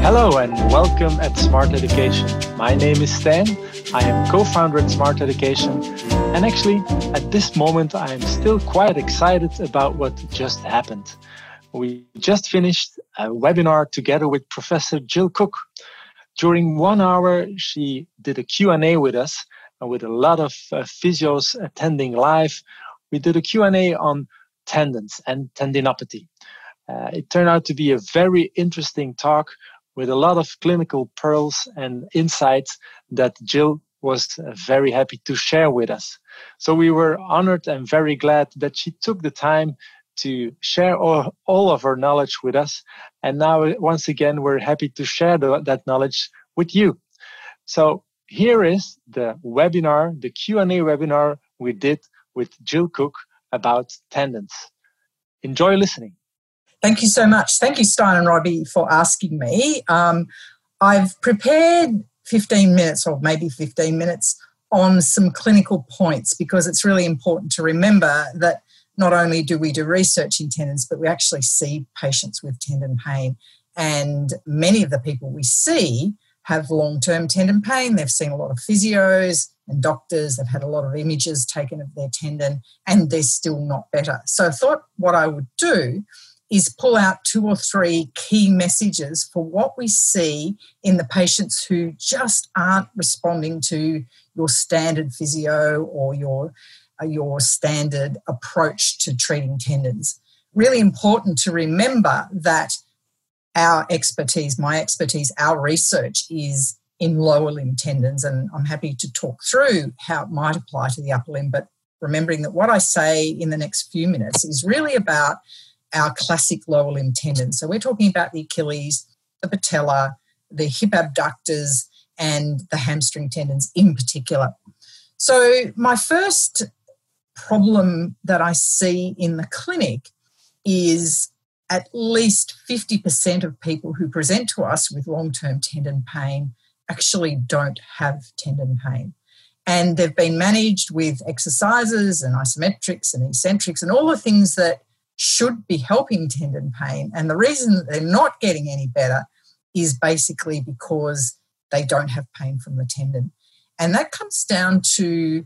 Hello and welcome at Smart Education. My name is Stan. I am co-founder at Smart Education. And actually, at this moment, I am still quite excited about what just happened. We just finished a webinar together with Professor Jill Cook. During 1 hour, she did a Q&A with us, and with a lot of physios attending live. We did a Q&A on tendons and tendinopathy. It turned out to be a very interesting talk with a lot of clinical pearls and insights that Jill was very happy to share with us. So we were honored and very glad that she took the time to share all of her knowledge with us. And now, once again, we're happy to share that knowledge with you. So here is the webinar, the Q&A webinar we did with Jill Cook about tendons. Enjoy listening. Thank you so much. Thank you, Stein and Robbie, for asking me. I've prepared 15 minutes or maybe 15 minutes on some clinical points because it's really important to remember that not only do we do research in tendons, but we actually see patients with tendon pain. And many of the people we see have long-term tendon pain. They've seen a lot of physios and doctors. They've had a lot of images taken of their tendon and they're still not better. So I thought what I would do is pull out 2 or 3 key messages for what we see in the patients who just aren't responding to your standard physio or your standard approach to treating tendons. Really important to remember that our expertise, my expertise, our research is in lower limb tendons, and I'm happy to talk through how it might apply to the upper limb, but remembering that what I say in the next few minutes is really about our classic lower limb tendons. So we're talking about the Achilles, the patella, the hip abductors, and the hamstring tendons in particular. So my first problem that I see in the clinic is at least 50% of people who present to us with long-term tendon pain actually don't have tendon pain. And they've been managed with exercises and isometrics and eccentrics and all the things that should be helping tendon pain. And the reason that they're not getting any better is basically because they don't have pain from the tendon. And that comes down to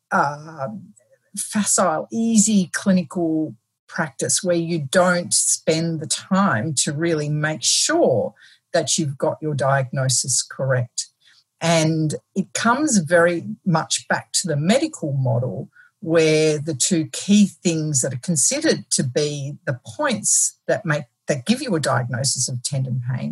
facile, easy clinical practice where you don't spend the time to really make sure that you've got your diagnosis correct. And it comes very much back to the medical model where the 2 key things that are considered to be the points that give you a diagnosis of tendon pain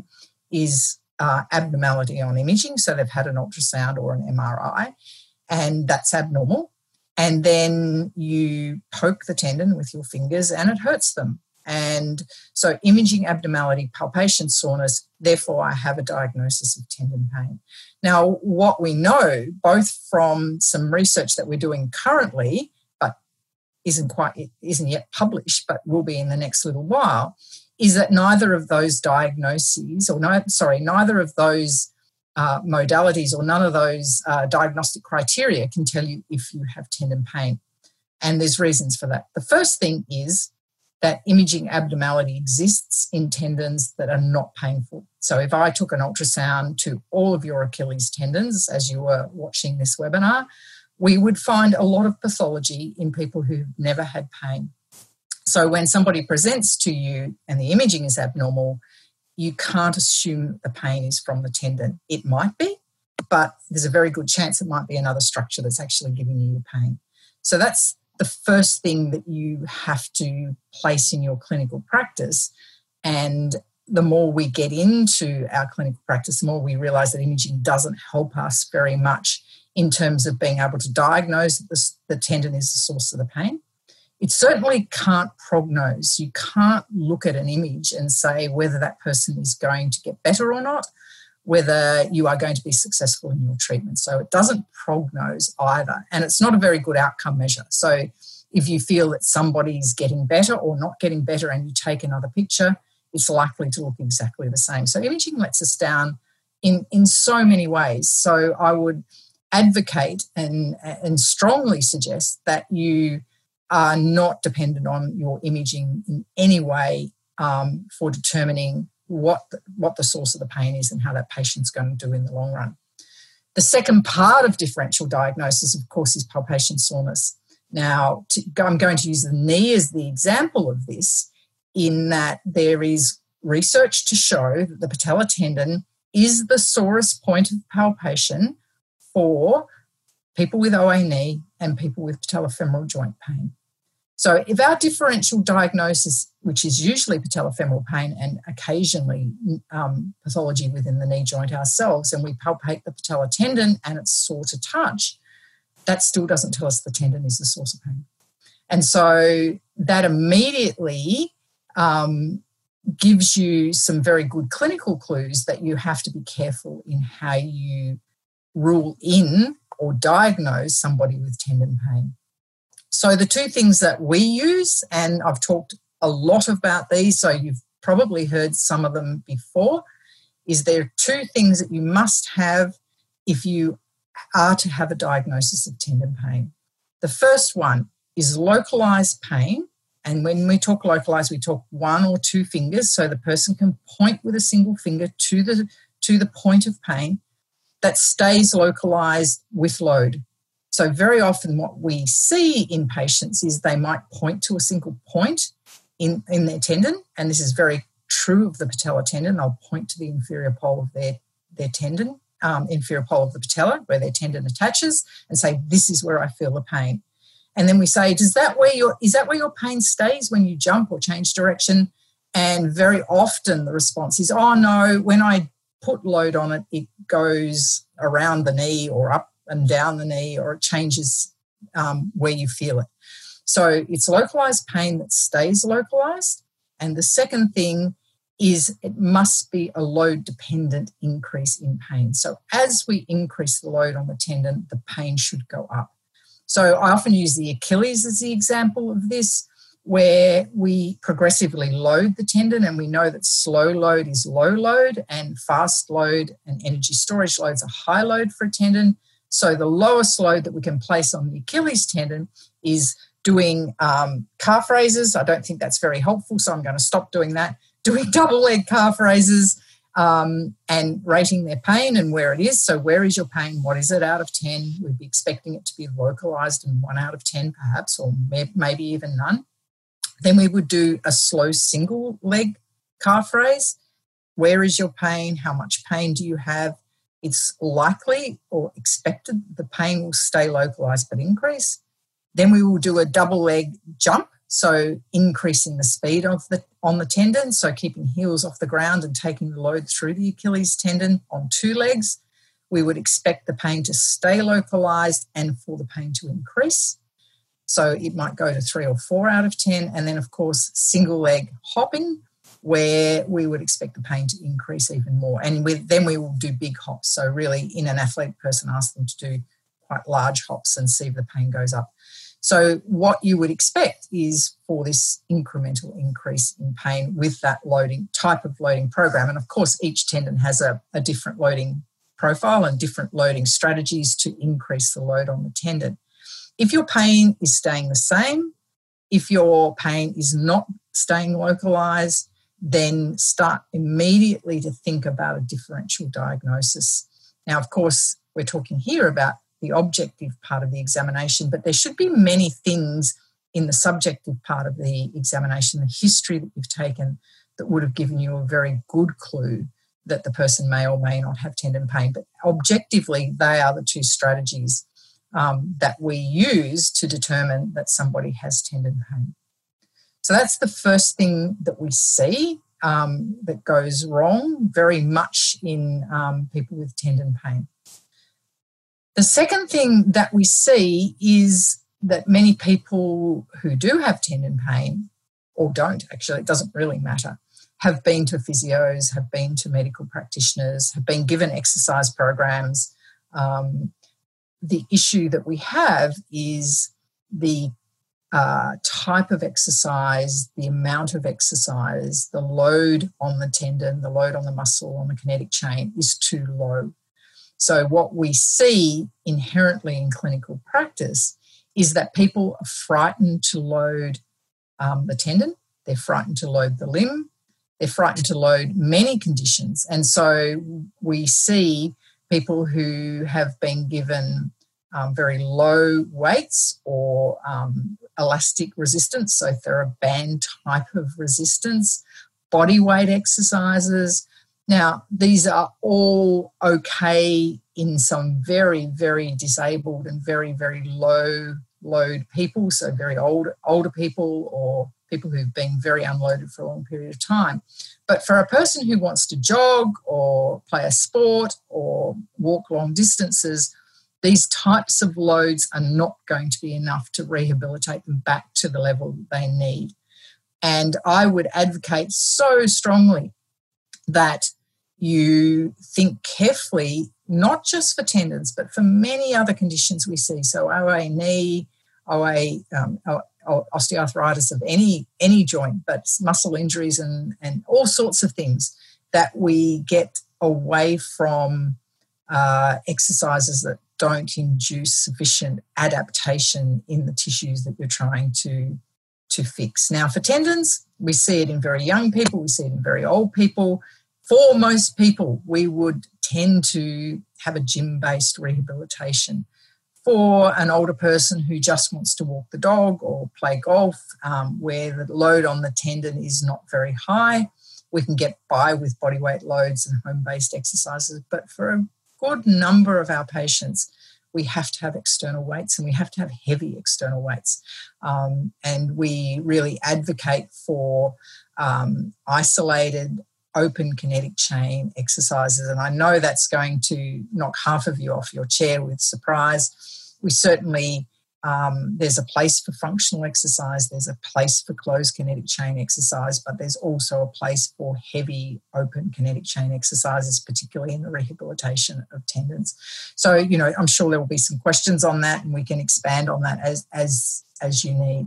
is abnormality on imaging. So they've had an ultrasound or an MRI, and that's abnormal. And then you poke the tendon with your fingers and it hurts them. And so imaging abnormality, palpation, soreness, therefore I have a diagnosis of tendon pain. Now, what we know, both from some research that we're doing currently, but isn't yet published, but will be in the next little while, is that neither of those diagnoses, neither of those modalities or none of those diagnostic criteria can tell you if you have tendon pain. And there's reasons for that. The first thing is that imaging abnormality exists in tendons that are not painful. So if I took an ultrasound to all of your Achilles tendons as you were watching this webinar, we would find a lot of pathology in people who've never had pain. So when somebody presents to you and the imaging is abnormal, you can't assume that the pain is from the tendon. It might be, but there's a very good chance it might be another structure that's actually giving you the pain. So that's the first thing that you have to place in your clinical practice. And the more we get into our clinical practice, the more we realise that imaging doesn't help us very much in terms of being able to diagnose that the tendon is the source of the pain. It certainly can't prognose. You can't look at an image and say whether that person is going to get better or not, whether you are going to be successful in your treatment. So it doesn't prognose either. And it's not a very good outcome measure. So if you feel that somebody's getting better or not getting better and you take another picture, it's likely to look exactly the same. So imaging lets us down in so many ways. So I would advocate and strongly suggest that you are not dependent on your imaging in any way for determining what the source of the pain is and how that patient's going to do in the long run. The second part of differential diagnosis, of course, is palpation soreness. Now, I'm going to use the knee as the example of this, in that there is research to show that the patellar tendon is the sorest point of palpation for people with OA knee and people with patellofemoral joint pain. So if our differential diagnosis, which is usually patellofemoral pain and occasionally pathology within the knee joint ourselves, and we palpate the patellar tendon and it's sore to touch, that still doesn't tell us the tendon is the source of pain. And so that immediately gives you some very good clinical clues that you have to be careful in how you rule in or diagnose somebody with tendon pain. So the two things that we use, and I've talked a lot about these, so you've probably heard some of them before, is there are two things that you must have if you are to have a diagnosis of tendon pain. The first one is localised pain, and when we talk localised, we talk one or two fingers, so the person can point with a single finger to the point of pain that stays localised with load. So very often what we see in patients is they might point to a single point in their tendon, and this is very true of the patellar tendon. They'll point to the inferior pole of their tendon, inferior pole of the patella, where their tendon attaches, and say, this is where I feel the pain. And then we say, is that where your pain stays when you jump or change direction? And very often the response is, oh no, when I put load on it, it goes around the knee or up and down the knee, or it changes where you feel it. So it's localised pain that stays localised. And the second thing is it must be a load-dependent increase in pain. So as we increase the load on the tendon, the pain should go up. So I often use the Achilles as the example of this, where we progressively load the tendon, and we know that slow load is low load and fast load and energy storage loads are high load for a tendon. So the lowest load that we can place on the Achilles tendon is doing calf raises. I don't think that's very helpful, so I'm going to stop doing that. Doing double leg calf raises and rating their pain and where it is. So where is your pain? What is it out of 10? We'd be expecting it to be localised in 1 out of 10 perhaps, or maybe even none. Then we would do a slow single leg calf raise. Where is your pain? How much pain do you have? It's likely or expected the pain will stay localised but increase. Then we will do a double leg jump, so increasing the speed on the tendon, so keeping heels off the ground and taking the load through the Achilles tendon on 2 legs. We would expect the pain to stay localised and for the pain to increase. So it might go to 3 or 4 out of 10. And then, of course, single leg hopping, where we would expect the pain to increase even more. And then we will do big hops. So really, in an athletic person, ask them to do quite large hops and see if the pain goes up. So what you would expect is for this incremental increase in pain with that type of loading program. And of course, each tendon has a different loading profile and different loading strategies to increase the load on the tendon. If your pain is staying the same, if your pain is not staying localised, then start immediately to think about a differential diagnosis. Now, of course, we're talking here about the objective part of the examination, but there should be many things in the subjective part of the examination, the history that you've taken, that would have given you a very good clue that the person may or may not have tendon pain. But objectively, they are the two strategies that we use to determine that somebody has tendon pain. So that's the first thing that we see that goes wrong very much in people with tendon pain. The second thing that we see is that many people who do have tendon pain, or don't actually, it doesn't really matter, have been to physios, have been to medical practitioners, have been given exercise programs. The issue that we have is the type of exercise, the amount of exercise, the load on the tendon, the load on the muscle, on the kinetic chain is too low. So what we see inherently in clinical practice is that people are frightened to load the tendon, they're frightened to load the limb, They're frightened to load many conditions. And so we see people who have been given very low weights or elastic resistance, so TheraBand type of resistance, body weight exercises. Now, these are all okay in some very, very disabled and very, very low load people, so very older people or people who've been very unloaded for a long period of time. But for a person who wants to jog or play a sport or walk long distances, these types of loads are not going to be enough to rehabilitate them back to the level that they need. And I would advocate so strongly that you think carefully, not just for tendons, but for many other conditions we see. So OA knee, OA osteoarthritis of any joint, but muscle injuries and all sorts of things, that we get away from exercises that don't induce sufficient adaptation in the tissues that you're trying to fix. Now, for tendons, we see it in very young people, we see it in very old people. For most people, we would tend to have a gym-based rehabilitation. For an older person who just wants to walk the dog or play golf, where the load on the tendon is not very high, we can get by with bodyweight loads and home-based exercises. But for a good number of our patients, we have to have external weights, and we have to have heavy external weights. And we really advocate for isolated, open kinetic chain exercises. And I know that's going to knock half of you off your chair with surprise. We certainly, there's a place for functional exercise, there's a place for closed kinetic chain exercise, but there's also a place for heavy open kinetic chain exercises, particularly in the rehabilitation of tendons. So, I'm sure there will be some questions on that, and we can expand on that as you need.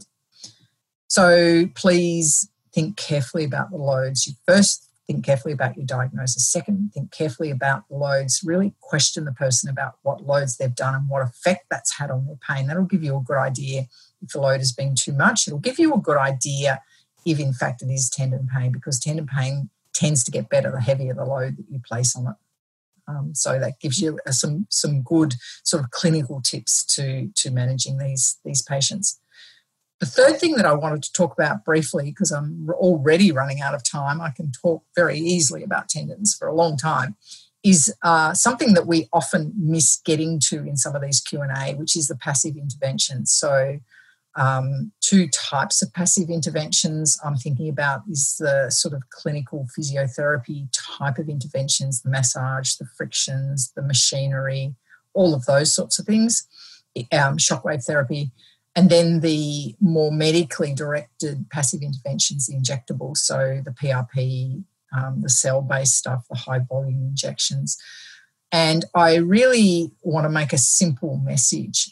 So please think carefully about the loads. You first think carefully about your diagnosis. Second, think carefully about the loads. Really question the person about what loads they've done and what effect that's had on their pain. That'll give you a good idea if the load has been too much. It'll give you a good idea if, in fact, it is tendon pain, because tendon pain tends to get better the heavier the load that you place on it. So that gives you some good sort of clinical tips to managing these patients. The third thing that I wanted to talk about briefly, because I'm already running out of time, I can talk very easily about tendons for a long time, is something that we often miss getting to in some of these Q&A, which is the passive interventions. So two types of passive interventions I'm thinking about is the sort of clinical physiotherapy type of interventions, the massage, the frictions, the machinery, all of those sorts of things, shockwave therapy. And then the more medically directed passive interventions, the injectables, so the PRP, the cell-based stuff, the high-volume injections. And I really want to make a simple message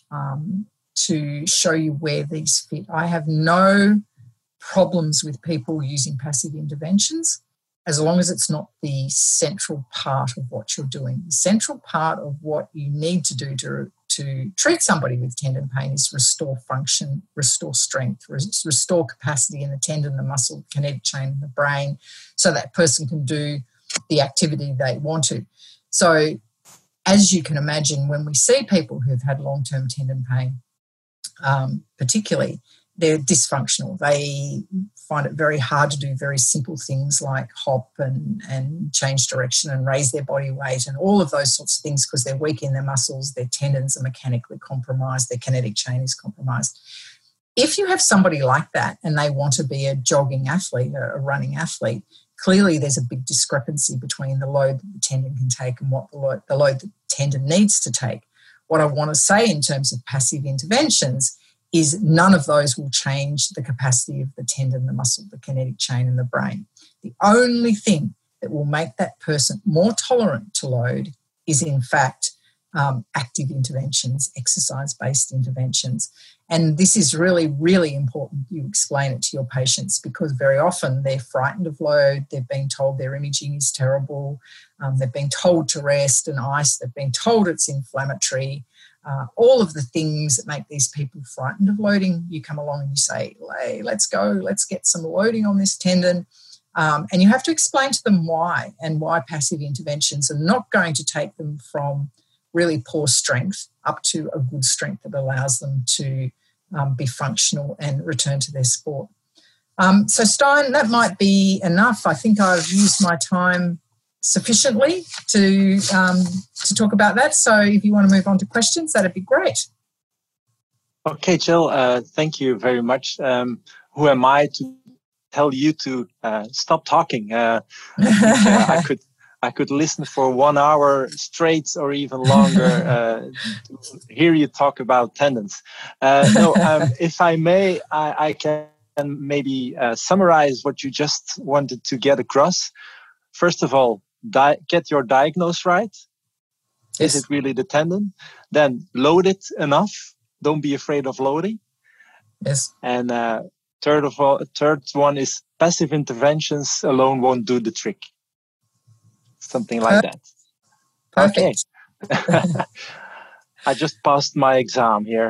to show you where these fit. I have no problems with people using passive interventions as long as it's not the central part of what you're doing. The central part of what you need to do to treat somebody with tendon pain is restore function, restore strength, restore capacity in the tendon, the muscle, kinetic chain in the brain, so that person can do the activity they want to. So as you can imagine, when we see people who've had long-term tendon pain, particularly, they're dysfunctional. They find it very hard to do very simple things like hop and change direction and raise their body weight and all of those sorts of things, because they're weak in their muscles, their tendons are mechanically compromised, their kinetic chain is compromised. If you have somebody like that and they want to be a jogging athlete, a running athlete, clearly there's a big discrepancy between the load that the tendon can take and what the load that the tendon needs to take. What I want to say in terms of passive interventions is none of those will change the capacity of the tendon, the muscle, the kinetic chain and the brain. The only thing that will make that person more tolerant to load is, in fact, active interventions, exercise-based interventions. And this is really, really important you explain it to your patients, because very often they're frightened of load, they've been told their imaging is terrible, they've been told to rest and ice, they've been told it's inflammatory. All of the things that make these people frightened of loading, you come along and you say, hey, let's go, let's get some loading on this tendon. And you have to explain to them why and why passive interventions are not going to take them from really poor strength up to a good strength that allows them to be functional and return to their sport. So Stein, that might be enough. I think I've used my time sufficiently to talk about that. So if you want to move on to questions, that'd be great. Okay, Jill, thank you very much. Who am I to tell you to stop talking? I could listen for 1 hour straight or even longer to hear you talk about tendons. If I may, I can maybe summarize what you just wanted to get across. First of all, get your diagnosis right. Yes. Is it really the tendon? Then load it enough. Don't be afraid of loading. Yes. And third one is passive interventions alone won't do the trick. Something like that. Perfect. Okay. I just passed my exam here.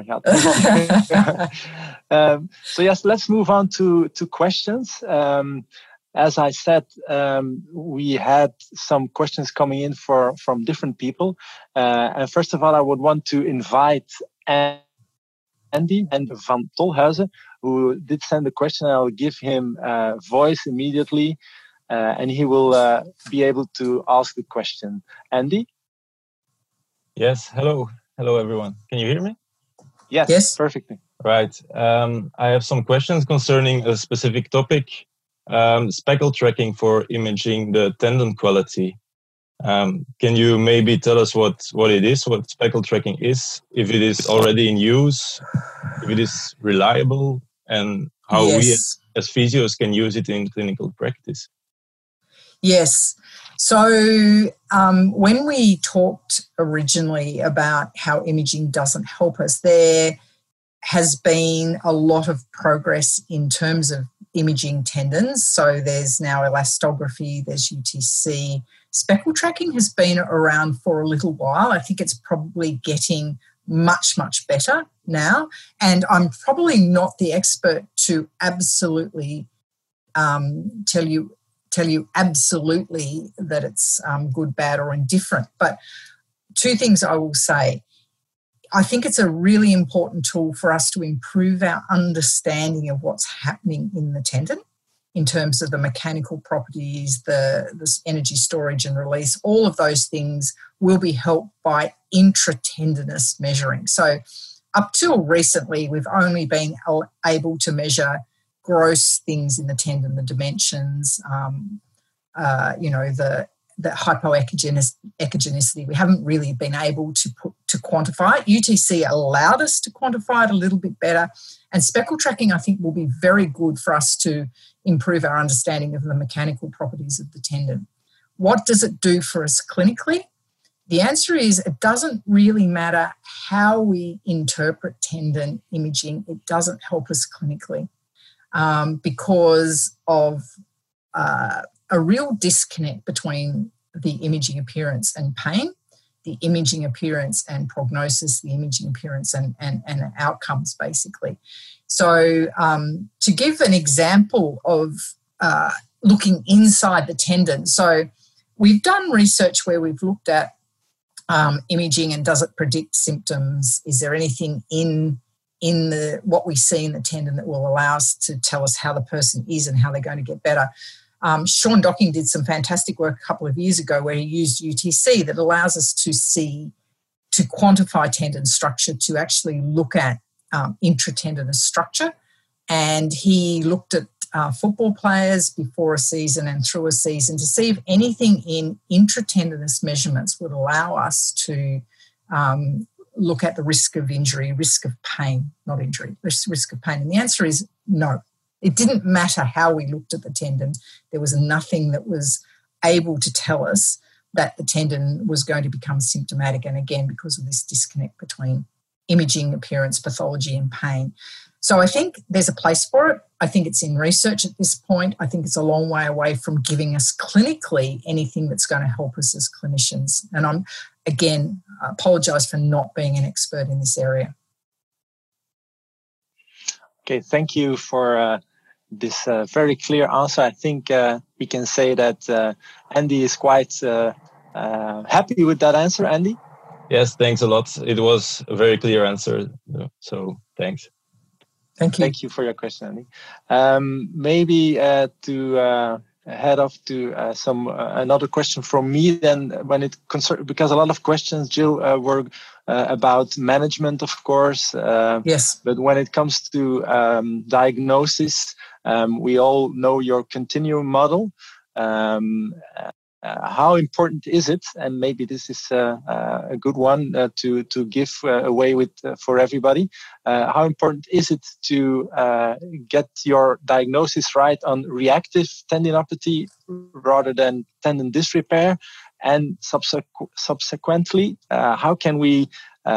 So yes, let's move on to questions. As I said, we had some questions coming in from different people. And first of all, I would want to invite Andy and Van Tolhuizen, who did send a question. I'll give him voice immediately, and he will be able to ask the question. Andy? Yes, hello. Hello, everyone. Can you hear me? Yes. Perfectly. Right. I have some questions concerning a specific topic, speckle tracking for imaging the tendon quality. Can you maybe tell us what it is, what speckle tracking is, if it is already in use, if it is reliable, and how we as physios can use it in clinical practice? Yes. So when we talked originally about how imaging doesn't help us, there has been a lot of progress in terms of imaging tendons. So there's now elastography, there's UTC. Speckle tracking has been around for a little while. I think it's probably getting much, much better now. And I'm probably not the expert to absolutely tell you absolutely that it's good, bad, or indifferent. But two things I will say. I think it's a really important tool for us to improve our understanding of what's happening in the tendon in terms of the mechanical properties, the energy storage and release. All of those things will be helped by intratendinous measuring. So up till recently, we've only been able to measure gross things in the tendon, the dimensions, the hypoechogenicity. We haven't really been able to quantify it. UTC allowed us to quantify it a little bit better. And speckle tracking, I think, will be very good for us to improve our understanding of the mechanical properties of the tendon. What does it do for us clinically? The answer is it doesn't really matter how we interpret tendon imaging. It doesn't help us clinically because of a real disconnect between the imaging appearance and pain, the imaging appearance and prognosis, the imaging appearance and outcomes, basically. So to give an example of looking inside the tendon, so we've done research where we've looked at imaging and does it predict symptoms? Is there anything in what we see in the tendon that will allow us to tell us how the person is and how they're going to get better? Sean Docking did some fantastic work a couple of years ago where he used UTC that allows us to quantify tendon structure, to actually look at intratendinous structure. And he looked at football players before a season and through a season to see if anything in intratendinous measurements would allow us to look at the risk of injury, risk of pain, not injury, risk of pain. And the answer is no. It didn't matter how we looked at the tendon. There was nothing that was able to tell us that the tendon was going to become symptomatic. And again, because of this disconnect between imaging, appearance, pathology, and pain. So I think there's a place for it. I think it's in research at this point. I think it's a long way away from giving us clinically anything that's going to help us as clinicians. And I apologise for not being an expert in this area. Okay, thank you for this very clear answer. I think we can say that Andy is quite happy with that answer. Andy? Yes, thanks a lot. It was a very clear answer. So thanks. Thank you. Thank you for your question, Andy. Maybe to head off to another question from me then, when it concerns, because a lot of questions, Jill, were about management, of course. Yes. But when it comes to diagnosis, we all know your continuum model. How important is it? And maybe this is a good one to give away with for everybody. How important is it to get your diagnosis right on reactive tendinopathy rather than tendon disrepair? And subsequently, how can we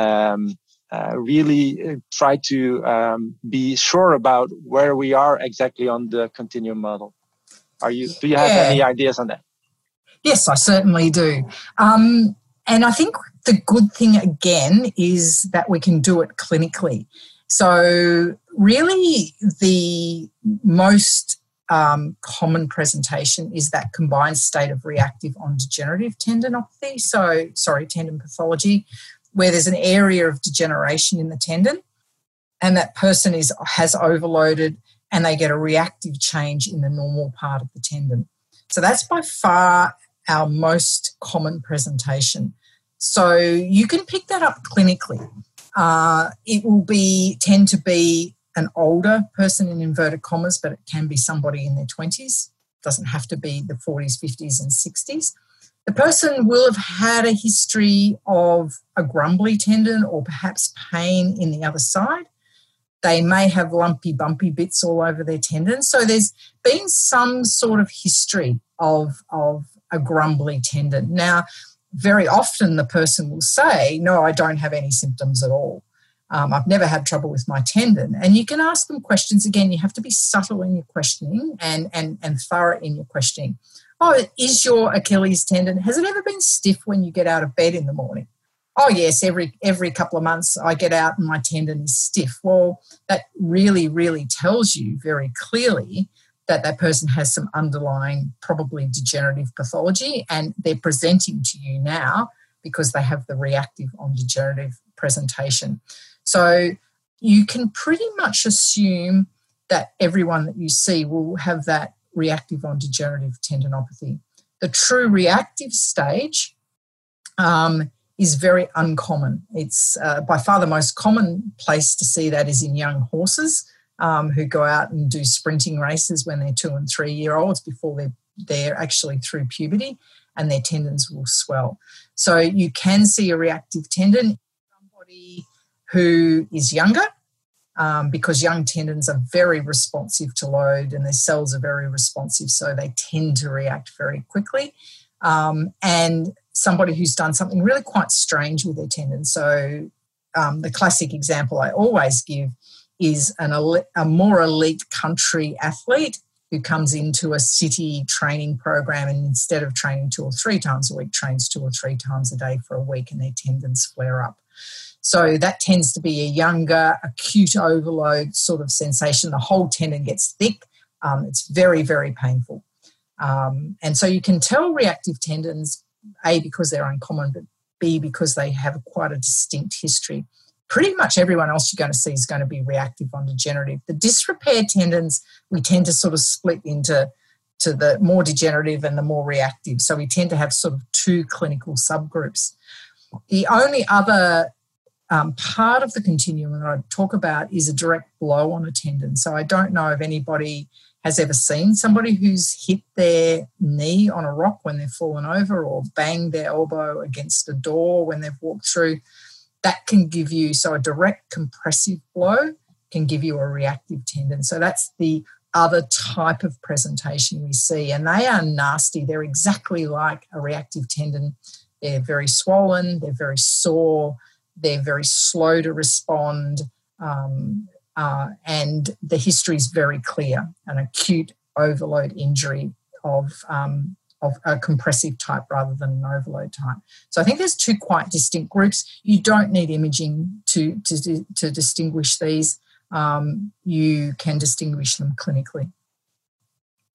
really try to be sure about where we are exactly on the continuum model? Do you have any ideas on that? Yes, I certainly do. And I think the good thing, again, is that we can do it clinically. So really the most common presentation is that combined state of reactive on degenerative tendinopathy, tendon pathology, where there's an area of degeneration in the tendon and that person has overloaded and they get a reactive change in the normal part of the tendon. So that's by far our most common presentation. So you can pick that up clinically. It will tend to be an older person in inverted commas, but it can be somebody in their 20s. It doesn't have to be the 40s, 50s and 60s. The person will have had a history of a grumbly tendon or perhaps pain in the other side. They may have lumpy, bumpy bits all over their tendon. So there's been some sort of history of a grumbly tendon. Now, very often the person will say, no, I don't have any symptoms at all. I've never had trouble with my tendon. And you can ask them questions. Again, you have to be subtle in your questioning and thorough in your questioning. Oh, is your Achilles tendon, has it ever been stiff when you get out of bed in the morning? Oh, yes, every couple of months I get out and my tendon is stiff. Well, that really, really tells you very clearly that person has some underlying, probably degenerative pathology, and they're presenting to you now because they have the reactive on degenerative presentation. So you can pretty much assume that everyone that you see will have that reactive on degenerative tendinopathy. The true reactive stage is very uncommon. It's by far the most common place to see that is in young horses who go out and do sprinting races when they're 2 and 3 year olds before they're actually through puberty, and their tendons will swell. So you can see a reactive tendon in somebody who is younger because young tendons are very responsive to load and their cells are very responsive, so they tend to react very quickly. And somebody who's done something really quite strange with their tendons. So the classic example I always give is a more elite country athlete who comes into a city training program and instead of training 2 or 3 times a week, trains 2 or 3 times a day for a week, and their tendons flare up. So that tends to be a younger, acute overload sort of sensation. The whole tendon gets thick. It's very, very painful. And so you can tell reactive tendons, A, because they're uncommon, but B, because they have quite a distinct history. Pretty much everyone else you're going to see is going to be reactive on degenerative. The disrepair tendons, we tend to sort of split into the more degenerative and the more reactive. So we tend to have sort of 2 clinical subgroups. The only other part of the continuum that I talk about is a direct blow on a tendon. So I don't know if anybody has ever seen somebody who's hit their knee on a rock when they've fallen over or banged their elbow against a door when they've walked through. That can give you, so a direct compressive blow can give you a reactive tendon. So that's the other type of presentation we see, and they are nasty. They're exactly like a reactive tendon. They're very swollen, they're very sore, they're very slow to respond, and the history is very clear, an acute overload injury of a compressive type rather than an overload type. So I think there's 2 quite distinct groups. You don't need imaging to distinguish these. You can distinguish them clinically.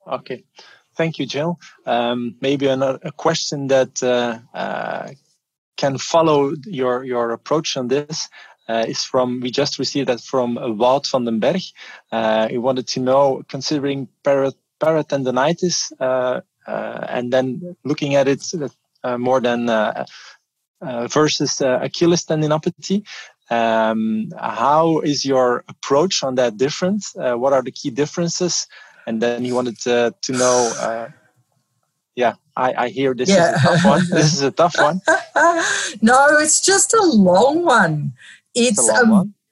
Okay. Thank you, Jill. Maybe a question that can follow your approach on this is we just received that from Wout van den Berg. He wanted to know, considering paratendonitis and then looking at it more than versus Achilles tendinopathy, how is your approach on that different? What are the key differences? And then he wanted to know, I hear this is a tough one. This is a tough one. No, it's just a long one. It's a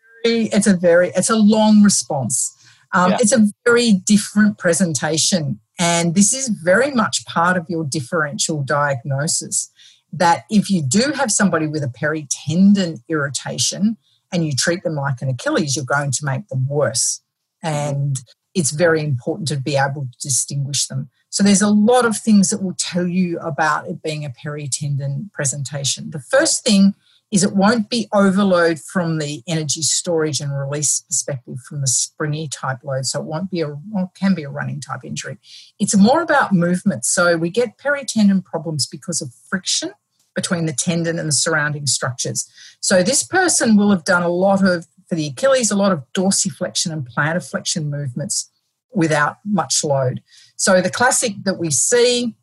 long response. It's a very different presentation. And this is very much part of your differential diagnosis, that if you do have somebody with a peritendon irritation and you treat them like an Achilles, you're going to make them worse. And it's very important to be able to distinguish them. So there's a lot of things that will tell you about it being a peritendon presentation. The first thing is it won't be overload from the energy storage and release perspective from the springy type load. So it can be a running type injury. It's more about movement. So we get peritendon problems because of friction between the tendon and the surrounding structures. So this person will have done for the Achilles, a lot of dorsiflexion and plantar flexion movements without much load. So the classic that we see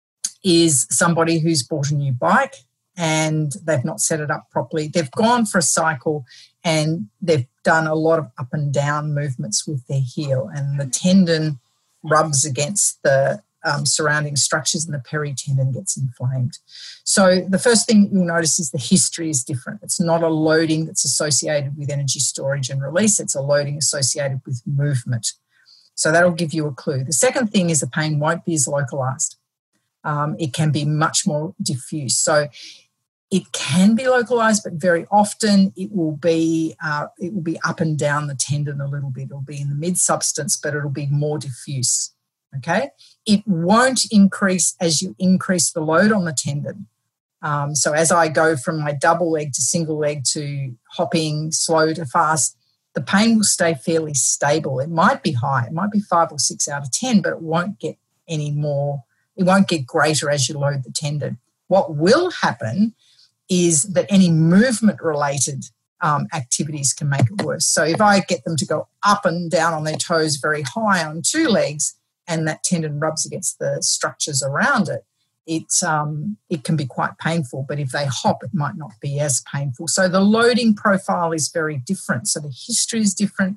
is somebody who's bought a new bike and they've not set it up properly. They've gone for a cycle and they've done a lot of up and down movements with their heel, and the tendon rubs against the surrounding structures and the peritendon gets inflamed. So the first thing you'll notice is the history is different. It's not a loading that's associated with energy storage and release. It's a loading associated with movement. So that'll give you a clue. The second thing is the pain won't be as localized. It can be much more diffuse. So it can be localized, but very often it will be up and down the tendon a little bit. It'll be in the mid-substance, but it'll be more diffuse. Okay? It won't increase as you increase the load on the tendon. So as I go from my double leg to single leg to hopping, slow to fast, the pain will stay fairly stable. It might be high. It might be 5 or 6 out of 10, but it won't get any more. It won't get greater as you load the tendon. What will happen is that any movement-related activities can make it worse. So if I get them to go up and down on their toes very high on 2 legs and that tendon rubs against the structures around it, it can be quite painful, but if they hop, it might not be as painful. So the loading profile is very different. So the history is different.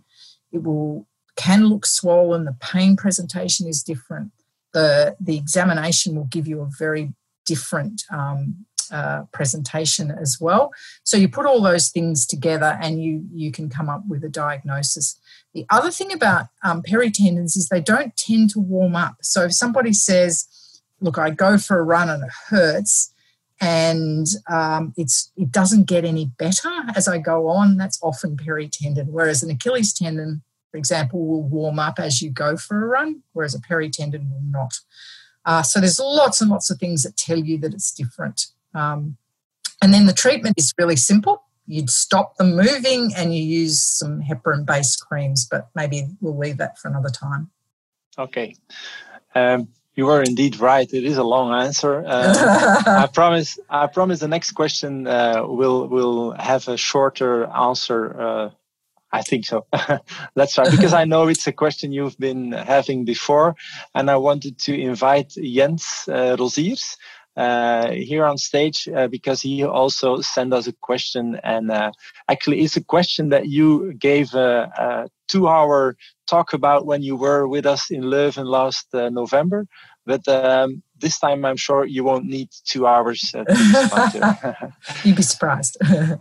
Can look swollen. The pain presentation is different. The examination will give you a very different presentation as well. So you put all those things together and you can come up with a diagnosis. The other thing about peritendons is they don't tend to warm up. So if somebody says, look, I go for a run and it hurts and it doesn't get any better as I go on, that's often peritendon, whereas an Achilles tendon, for example, will warm up as you go for a run, whereas a peritendon will not. So there's lots and lots of things that tell you that it's different. And then the treatment is really simple. You'd stop them moving and you use some heparin-based creams, but maybe we'll leave that for another time. Okay. You were indeed right. It is a long answer. I promise the next question will have a shorter answer. I think so. Let's try, because I know it's a question you've been having before, and I wanted to invite Jens Rosiers here on stage because he also sent us a question, and actually it's a question that you gave a 2-hour talk about when you were with us in Leuven last November. But this time I'm sure you won't need 2 hours to respond to. You'd be surprised.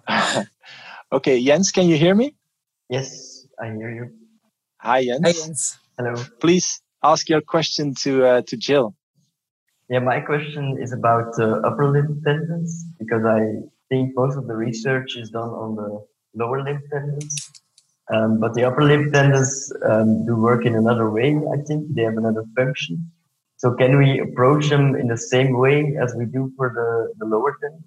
Okay, Jens, can you hear me? Yes, I hear you. Hi, Jens. Hi, Jens. Hello. Please ask your question to Jill. Yeah, my question is about upper limb tendons, because I think most of the research is done on the lower limb tendons. But the upper limb tendons do work in another way, I think. They have another function. So can we approach them in the same way as we do for the lower tendons?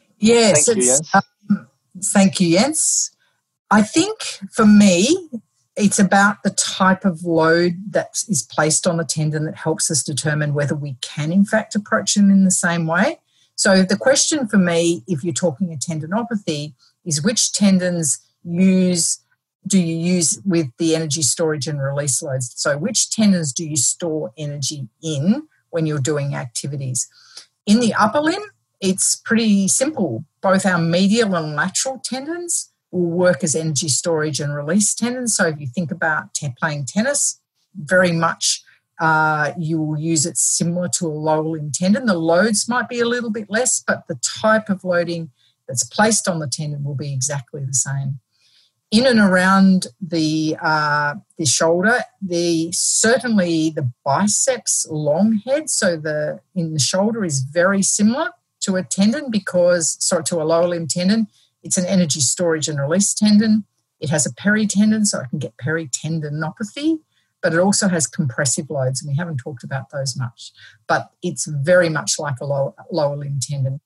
Yes. Thank you, Jens. Thank you, Jens. I think for me, it's about the type of load that is placed on the tendon that helps us determine whether we can, in fact, approach them in the same way. So the question for me, if you're talking a tendinopathy, is which tendons do you use with the energy storage and release loads? So which tendons do you store energy in when you're doing activities? In the upper limb, it's pretty simple. Both our medial and lateral tendons will work as energy storage and release tendons. So if you think about playing tennis, very much you will use it similar to a lower limb tendon. The loads might be a little bit less, but the type of loading that's placed on the tendon will be exactly the same. In and around the shoulder, certainly the biceps long head, so in the shoulder is very similar to a tendon to a lower limb tendon. It's an energy storage and release tendon. It has a peritendon, so I can get peritendinopathy, but it also has compressive loads, and we haven't talked about those much. But it's very much like a lower limb tendon.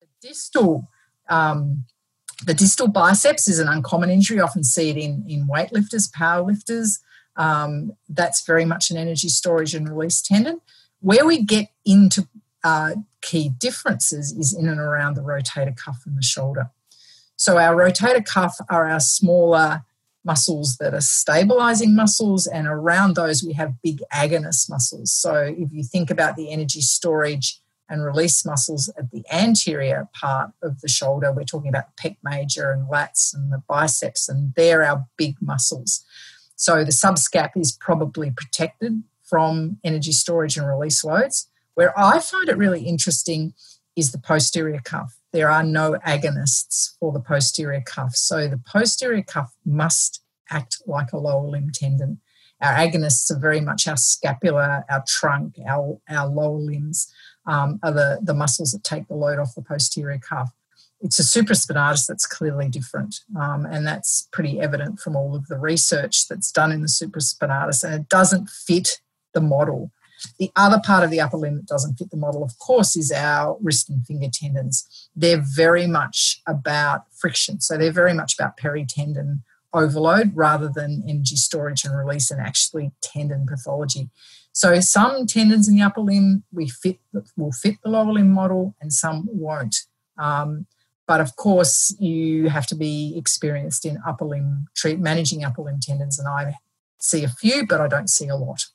The distal biceps is an uncommon injury. You often see it in weightlifters, powerlifters. That's very much an energy storage and release tendon. Where we get into key differences is in and around the rotator cuff and the shoulder. So our rotator cuff are our smaller muscles that are stabilizing muscles, and around those we have big agonist muscles. So if you think about the energy storage and release muscles at the anterior part of the shoulder, we're talking about the pec major and lats and the biceps, and they're our big muscles. So the subscap is probably protected from energy storage and release loads. Where I find it really interesting is the posterior cuff. There are no agonists for the posterior cuff. So the posterior cuff must act like a lower limb tendon. Our agonists are very much our scapula, our trunk, our lower limbs are the muscles that take the load off the posterior cuff. It's a supraspinatus that's clearly different, and that's pretty evident from all of the research that's done in the supraspinatus, and it doesn't fit the model. The other part of the upper limb that doesn't fit the model, of course, is our wrist and finger tendons. They're very much about friction. So they're very much about peritendon overload rather than energy storage and release and actually tendon pathology. So some tendons in the upper limb will fit the lower limb model and some won't. But of course, you have to be experienced in managing upper limb tendons, and I see a few, but I don't see a lot.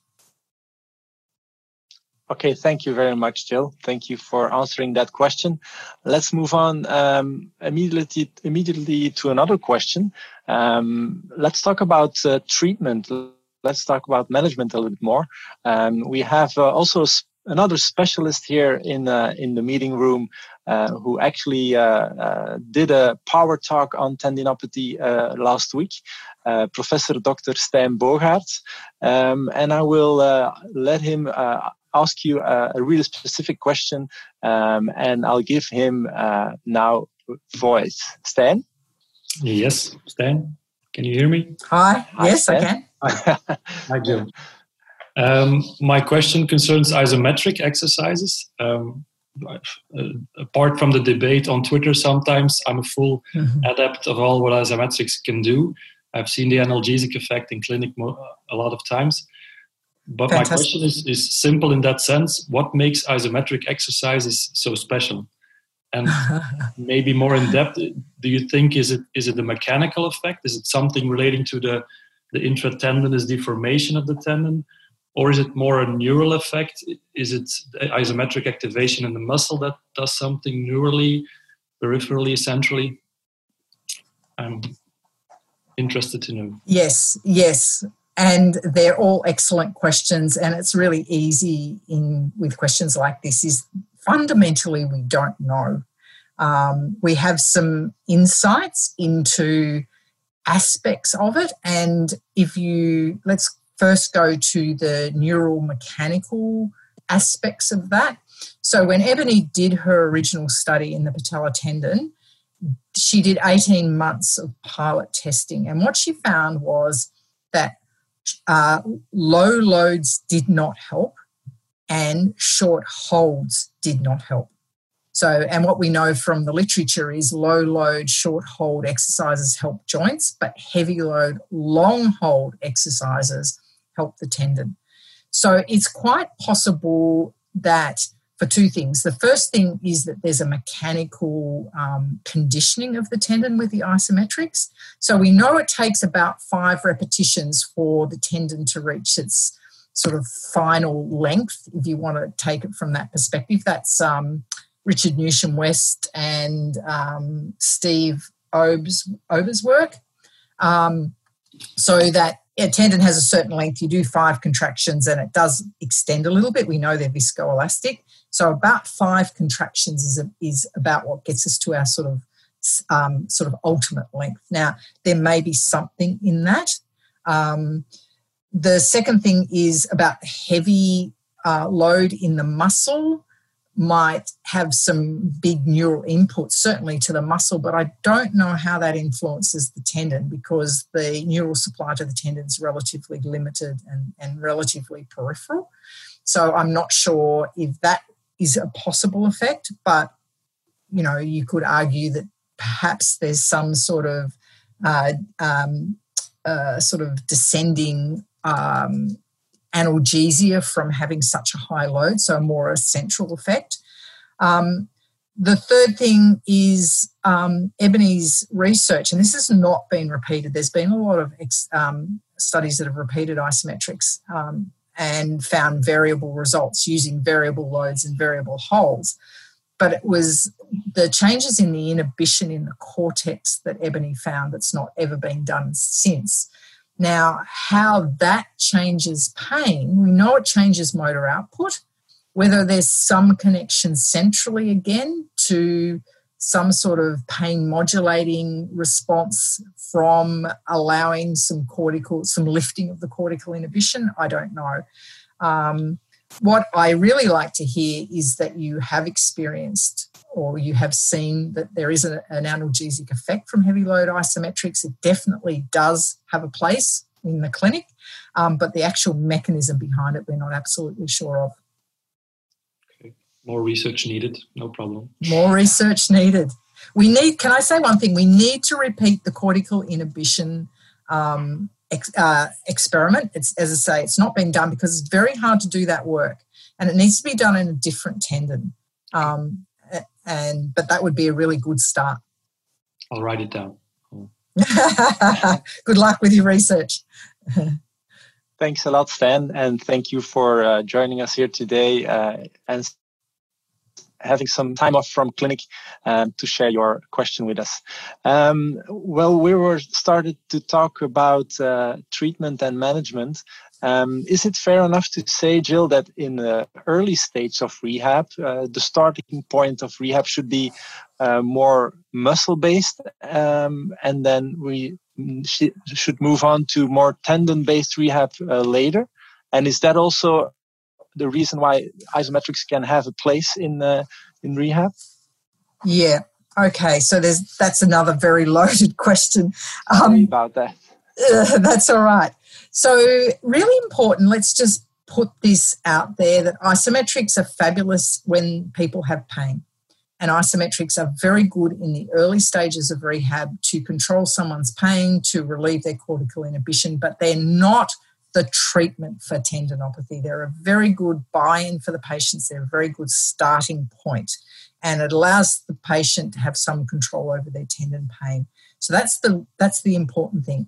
Okay, thank you very much, Jill. Thank you for answering that question. Let's move on immediately to another question. Let's talk about treatment. Let's talk about management a little bit more. We have also another specialist here in the meeting room who actually did a power talk on tendinopathy last week, Professor Dr. Stijn Bogaert. And I will let him ask you a really specific question, and I'll give him now voice. Stijn? Yes, Stijn. Can you hear me? Hi. Yes, Stijn. I can. Hi, Jill. My question concerns isometric exercises. Apart from the debate on Twitter, sometimes I'm a full adept of all what isometrics can do. I've seen the analgesic effect in clinic a lot of times. But Fantastic. My question is simple in that sense. What makes isometric exercises so special? And maybe more in depth, do you think is it a mechanical effect? Is it something relating to the intratendinous deformation of the tendon? Or is it more a neural effect? Is it isometric activation in the muscle that does something neurally, peripherally, centrally? I'm interested to know. Yes. And they're all excellent questions. And it's really easy with questions like this is fundamentally we don't know. We have some insights into aspects of it. And let's first go to the neural mechanical aspects of that. So when Ebony did her original study in the patellar tendon, she did 18 months of pilot testing. And what she found was that low loads did not help and short holds did not help. So, and what we know from the literature is low load, short hold exercises help joints, but heavy load, long hold exercises help the tendon. So it's quite possible that for two things. The first thing is that there's a mechanical conditioning of the tendon with the isometrics. So we know it takes about 5 repetitions for the tendon to reach its sort of final length, if you want to take it from that perspective. That's Richard Newsham-West and Steve Ober's work. So that a tendon has a certain length. You do 5 contractions and it does extend a little bit. We know they're viscoelastic. So about 5 contractions is about what gets us to our sort of ultimate length. Now, there may be something in that. The second thing is about heavy load in the muscle might have some big neural inputs, certainly to the muscle, but I don't know how that influences the tendon because the neural supply to the tendon is relatively limited and relatively peripheral. So I'm not sure if that is a possible effect, but, you know, you could argue that perhaps there's some sort of descending analgesia from having such a high load, so more a central effect. The third thing is Ebony's research, and this has not been repeated. There's been a lot of studies that have repeated isometrics and found variable results using variable loads and variable holds. But it was the changes in the inhibition in the cortex that Ebony found that's not ever been done since. Now, how that changes pain, we know it changes motor output, whether there's some connection centrally again to some sort of pain modulating response from allowing some lifting of the cortical inhibition, I don't know. What I really like to hear is that you have experienced or you have seen that there is an analgesic effect from heavy load isometrics. It definitely does have a place in the clinic, but the actual mechanism behind it we're not absolutely sure of. Okay. More research needed, no problem. More research needed. Can I say one thing? We need to repeat the cortical inhibition experiment. It's, as I say, it's not been done because it's very hard to do that work, and it needs to be done in a different tendon. But that would be a really good start. I'll write it down. Cool. Good luck with your research. Thanks a lot, Stan, and thank you for joining us here today and having some time off from clinic to share your question with us. Well, we were started to talk about treatment and management. Is it fair enough to say, Jill, that in the early stage of rehab, the starting point of rehab should be more muscle-based, and then we should move on to more tendon-based rehab later? And is that also the reason why isometrics can have a place in rehab? Yeah. Okay. So that's another very loaded question. Sorry about that. That's all right. So really important, let's just put this out there, that isometrics are fabulous when people have pain. And isometrics are very good in the early stages of rehab to control someone's pain, to relieve their cortical inhibition, but they're not the treatment for tendinopathy. They're a very good buy-in for the patients. They're a very good starting point, and it allows the patient to have some control over their tendon pain. So that's the important thing.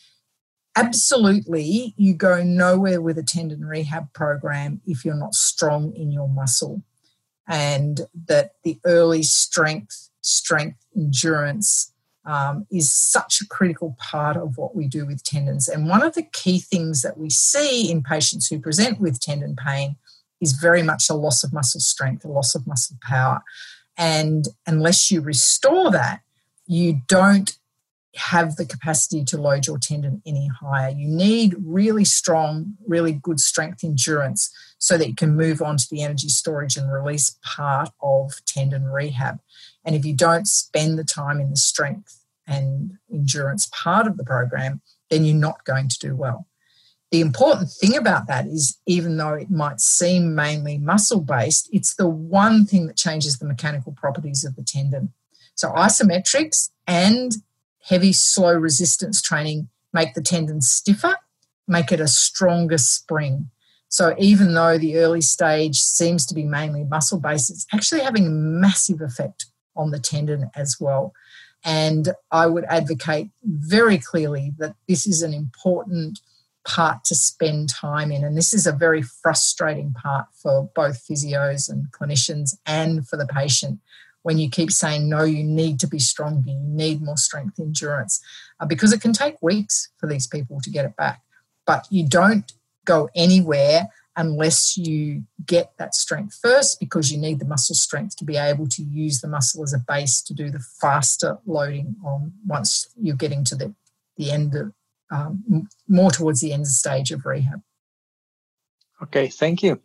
Absolutely, you go nowhere with a tendon rehab program if you're not strong in your muscle, and that the early strength, endurance is such a critical part of what we do with tendons. And one of the key things that we see in patients who present with tendon pain is very much a loss of muscle strength, a loss of muscle power. And unless you restore that, you don't have the capacity to load your tendon any higher. You need really strong, really good strength endurance so that you can move on to the energy storage and release part of tendon rehab. And if you don't spend the time in the strength and endurance part of the program, then you're not going to do well. The important thing about that is, even though it might seem mainly muscle-based, it's the one thing that changes the mechanical properties of the tendon. So isometrics and heavy, slow resistance training make the tendon stiffer, make it a stronger spring. So even though the early stage seems to be mainly muscle-based, it's actually having a massive effect on the tendon as well. And I would advocate very clearly that this is an important part to spend time in. And this is a very frustrating part for both physios and clinicians and for the patient, when you keep saying, no, you need to be stronger, you need more strength endurance, because it can take weeks for these people to get it back. But you don't go anywhere unless you get that strength first, because you need the muscle strength to be able to use the muscle as a base to do the faster loading on once you're getting to the end of, more towards the end stage of rehab. Okay, thank you.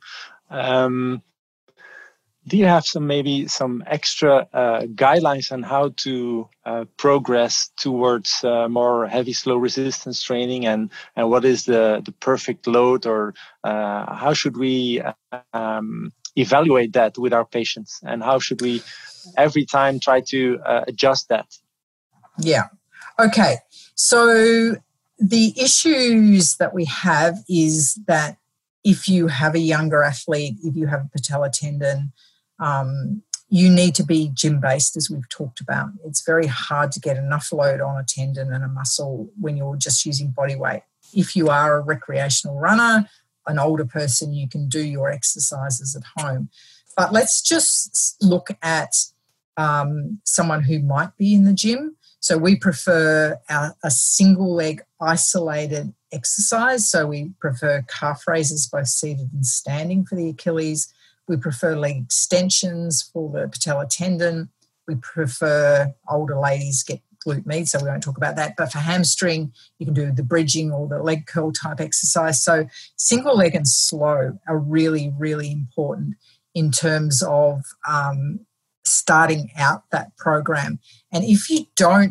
Do you have some extra guidelines on how to progress towards more heavy, slow resistance training, and what is the perfect load, or how should we evaluate that with our patients, and how should we every time try to adjust that? Yeah. Okay. So the issues that we have is that if you have a younger athlete, if you have a patella tendon, you need to be gym-based, as we've talked about. It's very hard to get enough load on a tendon and a muscle when you're just using body weight. If you are a recreational runner, an older person, you can do your exercises at home. But let's just look at someone who might be in the gym. So we prefer a single leg isolated exercise. So we prefer calf raises, both seated and standing, for the Achilles. We prefer leg extensions for the patella tendon. We prefer older ladies get glute med, so we won't talk about that. But for hamstring, you can do the bridging or the leg curl type exercise. So single leg and slow are really, really important in terms of starting out that program. And if you don't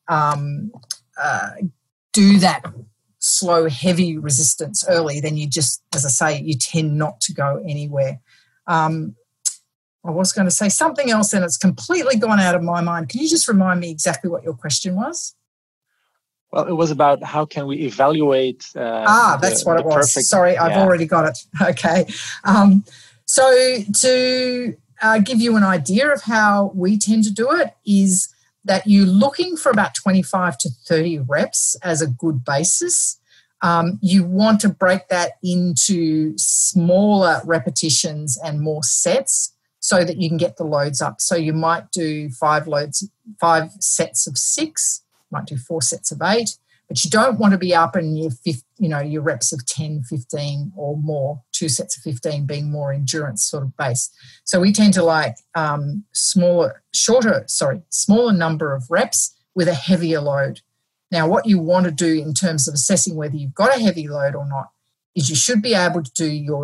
do that slow, heavy resistance early, then you just, as I say, you tend not to go anywhere. I was going to say something else and it's completely gone out of my mind. Can you just remind me exactly what your question was? Well, it was about how can we evaluate that's what it was. Perfect, sorry, I've already got it. Okay. So to give you an idea of how we tend to do it is that you're looking for about 25 to 30 reps as a good basis. You want to break that into smaller repetitions and more sets so that you can get the loads up. So you might do 5 sets of 6, might do 4 sets of 8, but you don't want to be up in your reps of 10, 15 or more, 2 sets of 15 being more endurance sort of base. So we tend to like smaller number of reps with a heavier load. Now, what you want to do in terms of assessing whether you've got a heavy load or not is you should be able to do your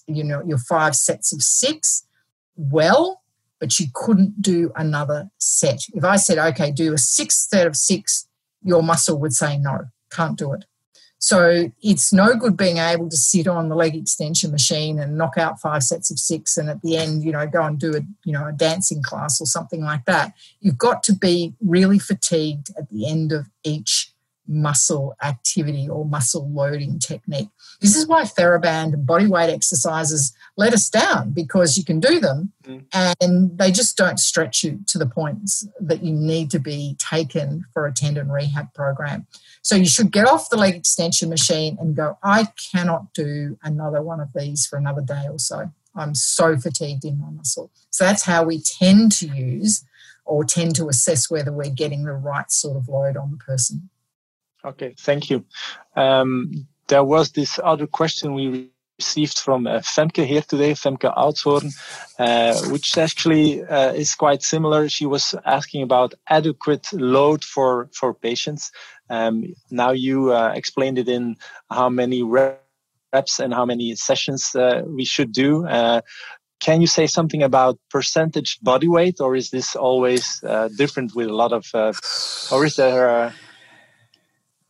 5 sets of 6 well, but you couldn't do another set. If I said, okay, do a 6th set of 6, your muscle would say, no, can't do it. So it's no good being able to sit on the leg extension machine and knock out 5 sets of 6 and at the end, go and do a dancing class or something like that. You've got to be really fatigued at the end of each muscle activity or muscle loading technique. This is why TheraBand and bodyweight exercises let us down, because you can do them and they just don't stretch you to the points that you need to be taken for a tendon rehab program. So you should get off the leg extension machine and go, I cannot do another one of these for another day or so. I'm so fatigued in my muscle. So that's how we tend to use or tend to assess whether we're getting the right sort of load on the person. Okay, thank you. There was this other question we received from Femke here today, Femke Oudshoorn, which actually is quite similar. She was asking about adequate load for patients. Now you explained it in how many reps and how many sessions we should do. Can you say something about percentage body weight, or is this always different with a lot of, or is there...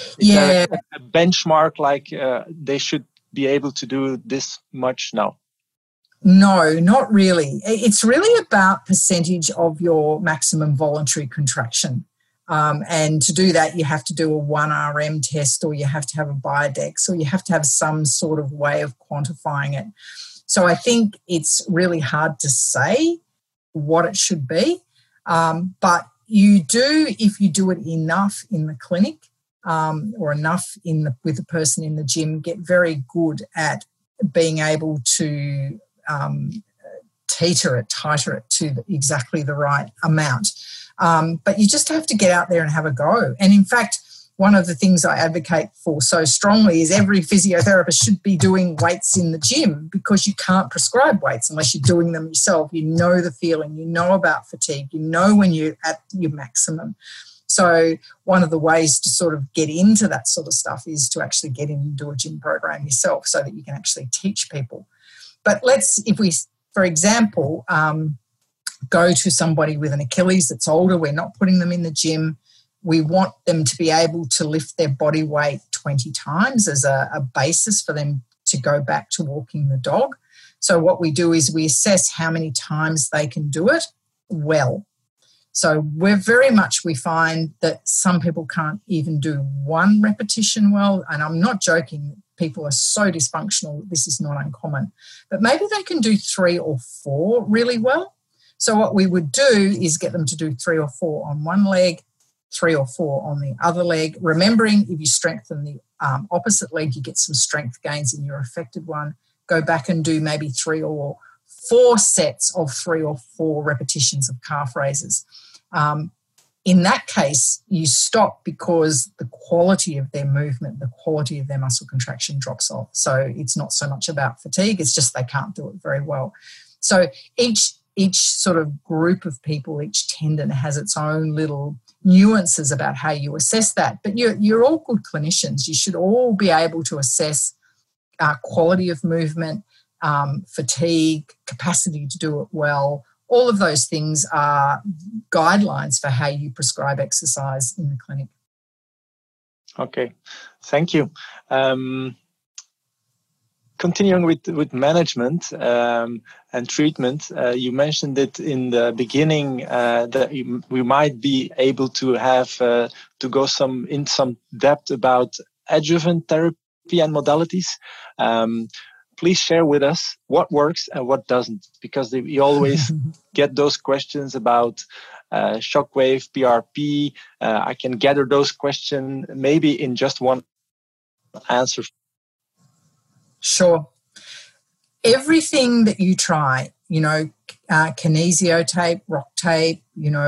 Is there a benchmark like they should be able to do this much now? No, not really. It's really about percentage of your maximum voluntary contraction. And to do that, you have to do a 1RM test, or you have to have a Biodex, or you have to have some sort of way of quantifying it. So I think it's really hard to say what it should be. But you do, if you do it enough in the clinic or enough with the person in the gym, get very good at being able to tighter it to exactly the right amount. But you just have to get out there and have a go. And in fact, one of the things I advocate for so strongly is every physiotherapist should be doing weights in the gym, because you can't prescribe weights unless you're doing them yourself. You know the feeling, you know about fatigue, you know when you're at your maximum. So one of the ways to sort of get into that sort of stuff is to actually get in and do a gym program yourself so that you can actually teach people. But if we, for example, go to somebody with an Achilles that's older, we're not putting them in the gym. We want them to be able to lift their body weight 20 times as a basis for them to go back to walking the dog. So what we do is we assess how many times they can do it well. So we find that some people can't even do one repetition well. And I'm not joking. People are so dysfunctional. This is not uncommon. But maybe they can do 3 or 4 really well. So what we would do is get them to do 3 or 4 on one leg, 3 or 4 on the other leg. Remembering, if you strengthen the opposite leg, you get some strength gains in your affected one. Go back and do maybe 3 or 4 sets of 3 or 4 repetitions of calf raises. In that case, you stop because the quality of their movement, the quality of their muscle contraction drops off. So it's not so much about fatigue, it's just they can't do it very well. So each sort of group of people, each tendon has its own little nuances about how you assess that. But you're all good clinicians. You should all be able to assess quality of movement, fatigue, capacity to do it well. All of those things are guidelines for how you prescribe exercise in the clinic. Okay, thank you. Continuing with management and treatment, you mentioned it in the beginning that we might be able to have to go in some depth about adjuvant therapy and modalities. Please share with us what works and what doesn't, because we always get those questions about shockwave, PRP. I can gather those questions maybe in just one answer. Sure. Everything that you try, kinesio tape, rock tape,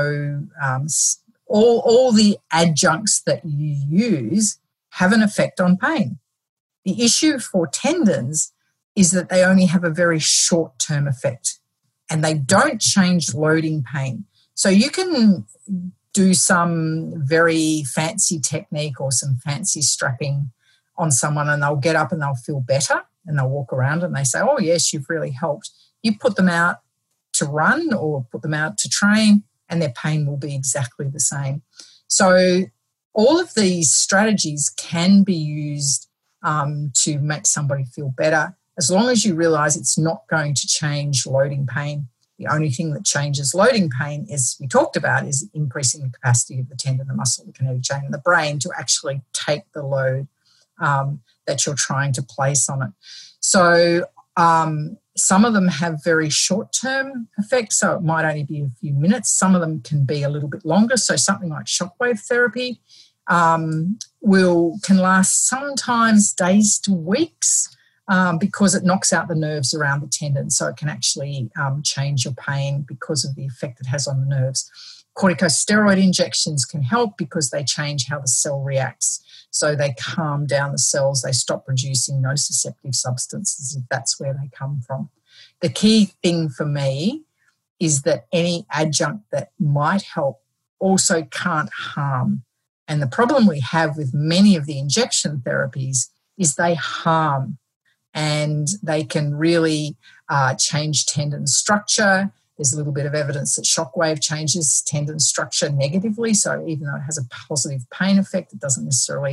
all the adjuncts that you use have an effect on pain. The issue for tendons is that they only have a very short-term effect and they don't change loading pain. So you can do some very fancy technique or some fancy strapping on someone and they'll get up and they'll feel better and they'll walk around and they say, oh, yes, you've really helped. You put them out to run or put them out to train and their pain will be exactly the same. So all of these strategies can be used to make somebody feel better, as long as you realise it's not going to change loading pain. The only thing that changes loading pain, as we talked about, is increasing the capacity of the tendon, the muscle, the kinetic chain, and the brain to actually take the load that you're trying to place on it. So some of them have very short-term effects, so it might only be a few minutes. Some of them can be a little bit longer. So something like shockwave therapy can last sometimes days to weeks because it knocks out the nerves around the tendon. So it can actually change your pain because of the effect it has on the nerves. Corticosteroid injections can help because they change how the cell reacts. So they calm down the cells. They stop producing nociceptive substances if that's where they come from. The key thing for me is that any adjunct that might help also can't harm. And the problem we have with many of the injection therapies is they harm and they can really change tendon structure. There's a little bit of evidence that shockwave changes tendon structure negatively. So even though it has a positive pain effect, it doesn't necessarily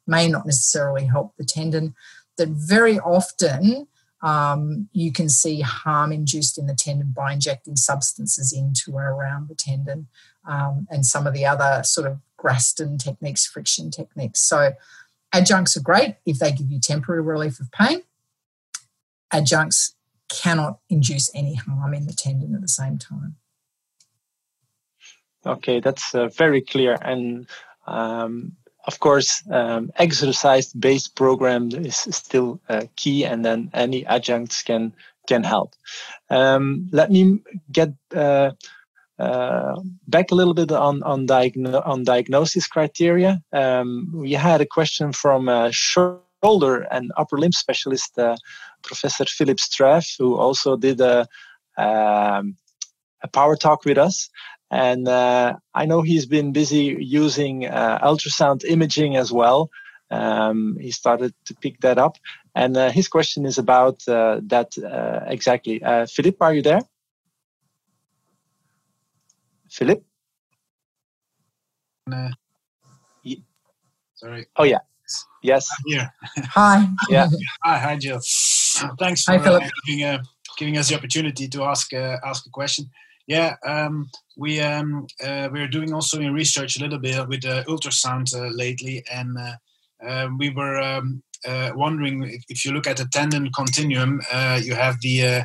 may not necessarily help the tendon, that very often you can see harm induced in the tendon by injecting substances into and around the tendon, and some of the other sort of Graston techniques, friction techniques. So adjuncts are great if they give you temporary relief of pain. Adjuncts cannot induce any harm in the tendon at the same time. Okay, that's very clear. And of course, exercise-based program is still key, and then any adjuncts can help. Let me get back a little bit on diagnosis criteria. We had a question from shoulder and upper limb specialist Professor Philip Straff, who also did a power talk with us. And I know he's been busy using ultrasound imaging as well. He started to pick that up. And his question is about that exactly. Philip, are you there? Philip? Sorry. Oh, yeah. Yes. I'm here. Hi. Yeah. Hi, Jill. Thanks for giving us the opportunity to ask a question. Yeah, we're doing also in research a little bit with ultrasound lately, and we were wondering if you look at the tendon continuum, you have the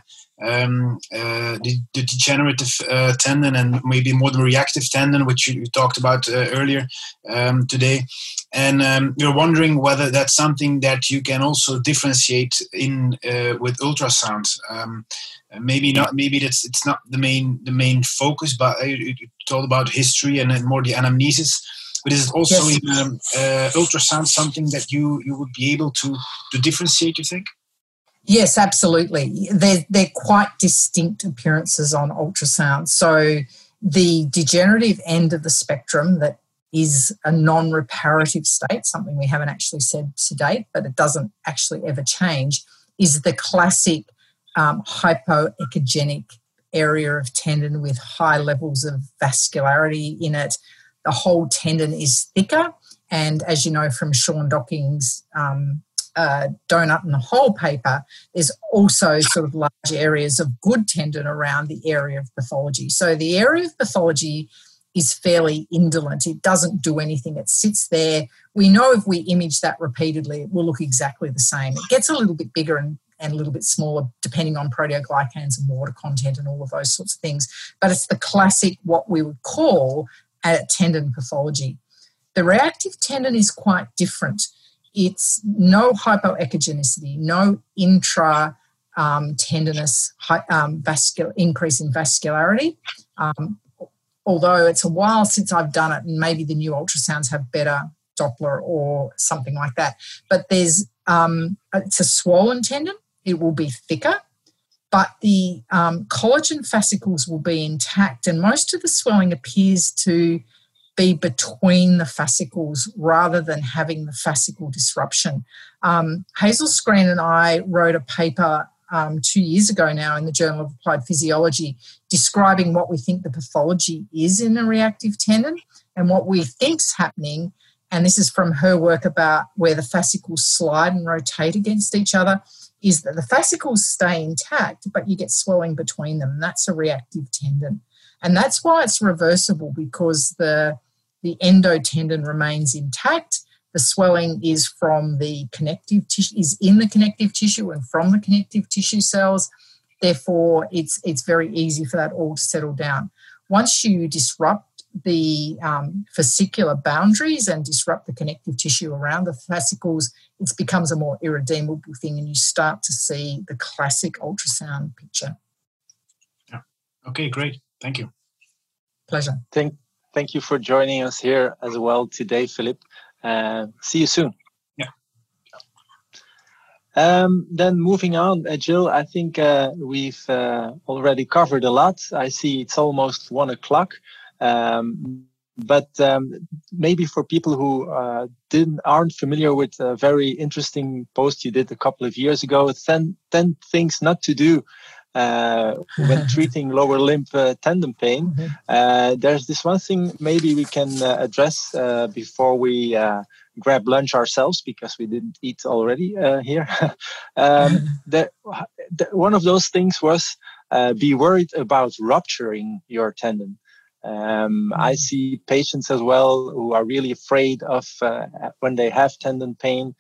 degenerative tendon and maybe more the reactive tendon, which you talked about earlier today. And we're wondering whether that's something that you can also differentiate in with ultrasound. Maybe not. Maybe it's not the main focus, but it's all about history and then more the anamnesis. But is it also in ultrasound something that you would be able to differentiate, you think? Yes, absolutely. They're quite distinct appearances on ultrasound. So the degenerative end of the spectrum that is a non-reparative state, something we haven't actually said to date, but it doesn't actually ever change, is the classic hypoechogenic area of tendon with high levels of vascularity in it. The whole tendon is thicker, and as you know from Sean Docking's donut and the hole paper, there's also sort of large areas of good tendon around the area of pathology. So the area of pathology is fairly indolent. It doesn't do anything. It sits there. We know if we image that repeatedly, it will look exactly the same. It gets a little bit bigger and a little bit smaller depending on proteoglycans and water content and all of those sorts of things. But it's the classic, what we would call a tendon pathology. The reactive tendon is quite different. It's no hypoechogenicity, no intra tendinous increase in vascularity. Although it's a while since I've done it, and maybe the new ultrasounds have better Doppler or something like that. But it's a swollen tendon. It will be thicker, but the collagen fascicles will be intact, and most of the swelling appears to be between the fascicles rather than having the fascicle disruption. Hazel Screen and I wrote a paper 2 years ago now in the Journal of Applied Physiology describing what we think the pathology is in a reactive tendon and what we think's happening. And this is from her work about where the fascicles slide and rotate against each other, is that the fascicles stay intact, but you get swelling between them. That's a reactive tendon. And that's why it's reversible, because the endotendon remains intact. The swelling is from the connective tissue, is in the connective tissue and from the connective tissue cells. Therefore, it's very easy for that all to settle down. Once you disrupt the fascicular boundaries and disrupt the connective tissue around the fascicles, it becomes a more irredeemable thing, and you start to see the classic ultrasound picture. Yeah. Okay, great. Thank you. Pleasure. Thank you for joining us here as well today, Philip. See you soon. Yeah. Then moving on, Jill, I think we've already covered a lot. I see it's almost 1 o'clock. But maybe for people who aren't familiar with a very interesting post you did a couple of years ago, 10 things not to do when treating lower limb tendon pain. There's this one thing maybe we can address before we grab lunch ourselves because we didn't eat already here. One of those things was be worried about rupturing your tendon. I see patients as well who are really afraid of when they have tendon pain.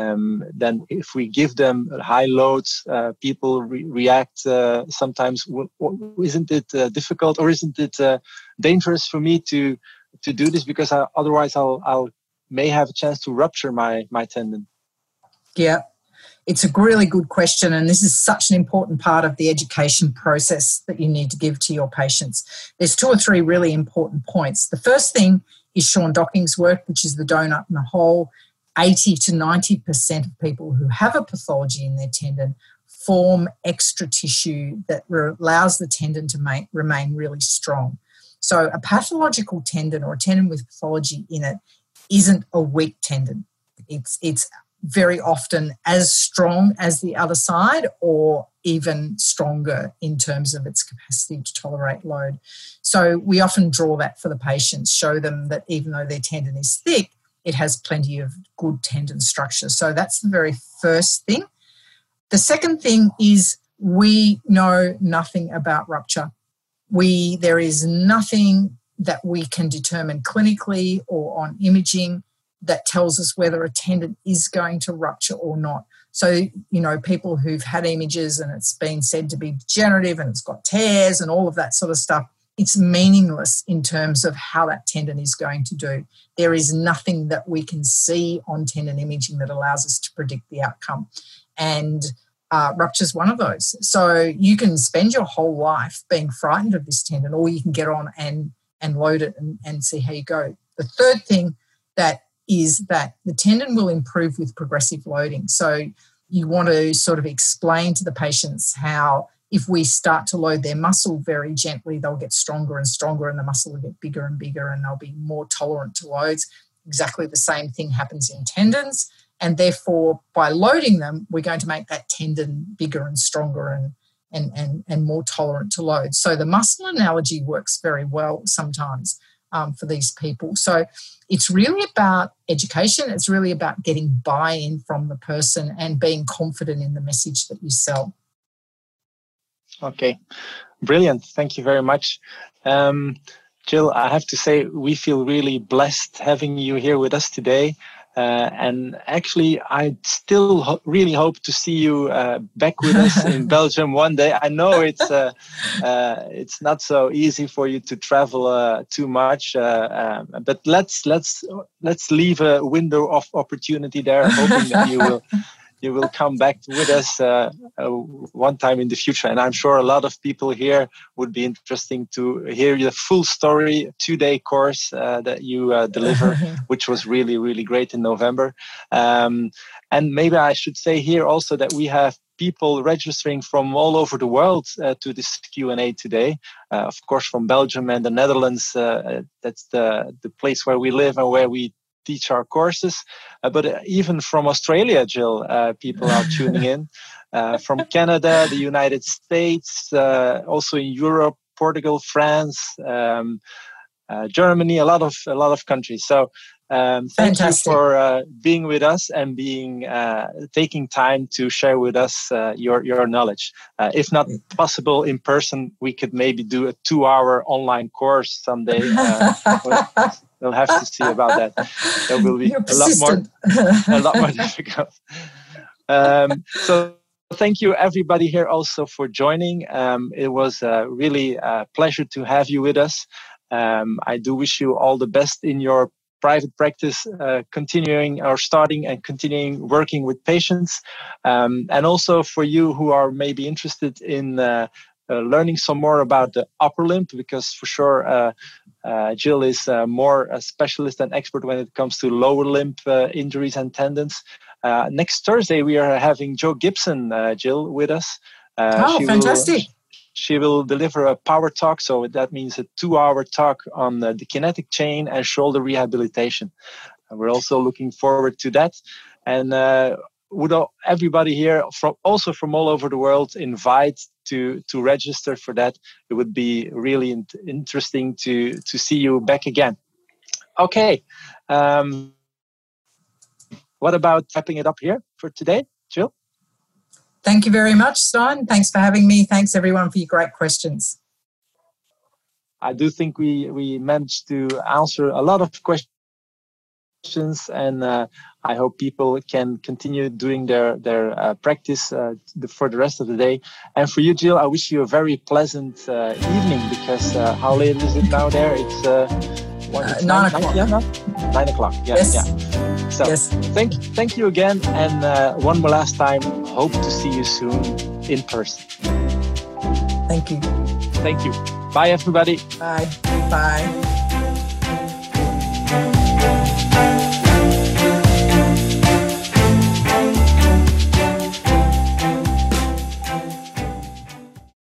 Then if we give them high loads, people react sometimes. Isn't it difficult, or isn't it dangerous for me to do this, because otherwise I'll may have a chance to rupture my tendon? Yeah, it's a really good question, and this is such an important part of the education process that you need to give to your patients. There's 2 or 3 really important points. The first thing is Sean Docking's work, which is the donut and the hole. 80 to 90% of people who have a pathology in their tendon form extra tissue that allows the tendon to remain really strong. So a pathological tendon, or a tendon with pathology in it, isn't a weak tendon. It's very often as strong as the other side, or even stronger in terms of its capacity to tolerate load. So we often draw that for the patients, show them that even though their tendon is thick, it has plenty of good tendon structure. So that's the very first thing. The second thing is we know nothing about rupture. There is nothing that we can determine clinically or on imaging that tells us whether a tendon is going to rupture or not. So, people who've had images and it's been said to be degenerative and it's got tears and all of that sort of stuff, it's meaningless in terms of how that tendon is going to do. There is nothing that we can see on tendon imaging that allows us to predict the outcome. And rupture is one of those. So you can spend your whole life being frightened of this tendon, or you can get on and load it and see how you go. The third thing that is that the tendon will improve with progressive loading. So you want to sort of explain to the patients how if we start to load their muscle very gently, they'll get stronger and stronger, and the muscle will get bigger and bigger, and they'll be more tolerant to loads. Exactly the same thing happens in tendons, and therefore by loading them, we're going to make that tendon bigger and stronger and more tolerant to loads. So the muscle analogy works very well sometimes for these people. So it's really about education. It's really about getting buy-in from the person and being confident in the message that you sell. Okay, brilliant. Thank you very much. Jill, I have to say we feel really blessed having you here with us today. And actually, I still really hope to see you back with us in Belgium one day. I know it's not so easy for you to travel too much, but let's leave a window of opportunity there, hoping that you will come back with us one time in the future. And I'm sure a lot of people here would be interesting to hear the full story, 2-day course that you deliver, which was really, really great in November. And maybe I should say here also that we have people registering from all over the world to this Q&A today. Of course, from Belgium and the Netherlands. That's the place where we live and where we teach our courses, but even from Australia, Jill, people are tuning in. From Canada, the United States, also in Europe, Portugal, France, Germany, a lot of countries. So thank you for being with us and taking time to share with us your knowledge. If not possible in person, we could maybe do a 2-hour online course someday. We'll have to see about that. That will be a lot more difficult. So thank you everybody here also for joining. It was really a pleasure to have you with us. I do wish you all the best in your private practice, continuing working with patients. And also for you who are maybe interested in learning some more about the upper limb, because for sure Jill is more a specialist and expert when it comes to lower limb injuries and tendons. Next Thursday, we are having Jo Gibson, Jill, with us. Fantastic. She will deliver a power talk, so that means a 2-hour talk on the kinetic chain and shoulder rehabilitation. We're also looking forward to that. And would everybody here, from all over the world, invite to register for that. It would be really interesting to see you back again. Okay. what about wrapping it up here for today, Jill? Thank you very much, Stein. Thanks for having me. Thanks, everyone, for your great questions. I do think we managed to answer a lot of questions, and I hope people can continue doing their practice for the rest of the day. And for you, Jill, I wish you a very pleasant evening, because how late is it now there? It's 9 o'clock. 9 o'clock. Yeah, yes. Yeah. So yes. Thank you again, and one more last time. Hope to see you soon in person. Thank you. Thank you. Bye, everybody. Bye. Bye.